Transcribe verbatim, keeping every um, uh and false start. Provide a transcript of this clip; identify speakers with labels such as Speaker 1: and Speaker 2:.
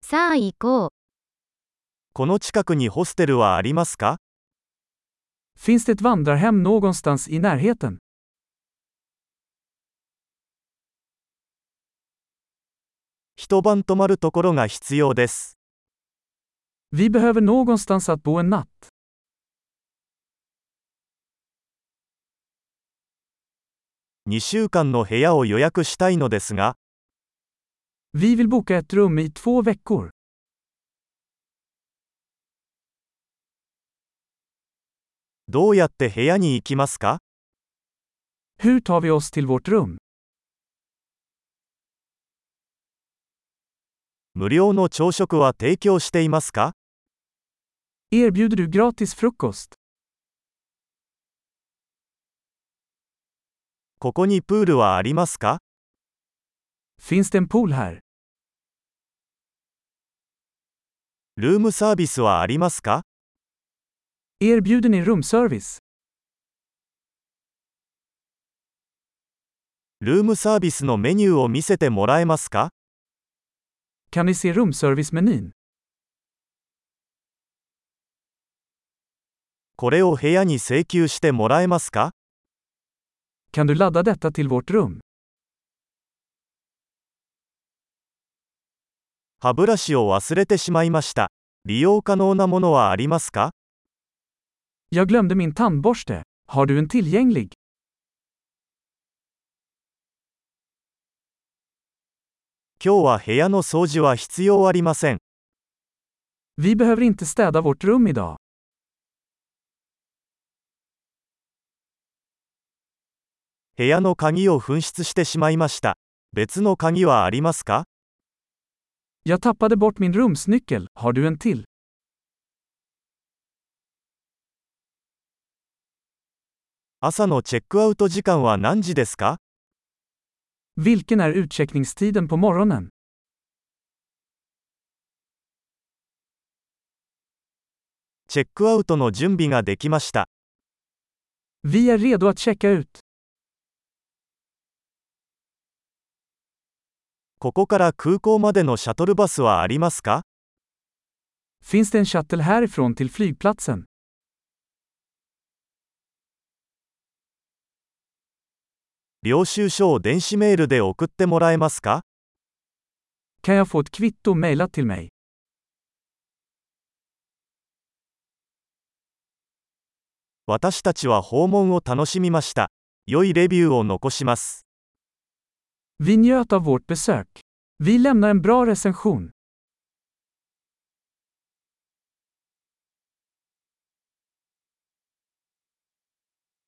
Speaker 1: さあ行こう。
Speaker 2: この近くにホステルはありますか？
Speaker 3: Finns det ett vandrarhem någonstans i närheten?
Speaker 2: 一晩泊まるところが必要です。
Speaker 3: Vi behöver någonstans att bo en natt.
Speaker 2: にしゅうかんの部屋を予約したいのですが、
Speaker 3: Vi vill boka ett rum i två veckor.
Speaker 2: どうやって部屋に行きますか？
Speaker 3: Hur tar vi oss till vårt rum?
Speaker 2: 無料の朝食は提供していますか？
Speaker 3: Erbjuder du gratis frukost?
Speaker 2: ここにプールはありますか？
Speaker 3: Finns det en pool här?
Speaker 2: ルームサービスはありますか？
Speaker 3: Erbjuder ni rumservice?
Speaker 2: ルームサービスのメニューを見せてもらえますか？
Speaker 3: Kan ni se rumservice-menyn?
Speaker 2: これを部屋に請求してもらえますか？
Speaker 3: Kan du ladda detta till vårt rum?
Speaker 2: 歯ブラシを忘れてしまいました。利用可能なものはありますか？
Speaker 3: Jag glömde min tandborste. Har du en tillgänglig?
Speaker 2: 今日は部屋の掃除は必要ありません。
Speaker 3: Vi behöver inte städa vårt rum idag.
Speaker 2: 部屋の鍵を紛失してしまいました。別の鍵はありますか？
Speaker 3: Jag tappade bort min rumsnyckel. Har du en till?
Speaker 2: 朝のチェックアウト時間は何時ですか？
Speaker 3: Vilken är utcheckningstiden på morgonen?
Speaker 2: チェックアウトの準備ができました。
Speaker 3: Vi är redo att checka ut.
Speaker 2: ここから空港までのシャトルバスはありますか？
Speaker 3: Finns det en shuttle härifrån till flygplatsen?
Speaker 2: 領収書を電子メールで送ってもらえますか？
Speaker 3: Kan jag få ett kvitto mejlat till mig?
Speaker 2: 私たちは訪問を楽しみました。良いレビューを残します。
Speaker 3: Vi njöt av vårt besök. Vi lämnar en bra recension.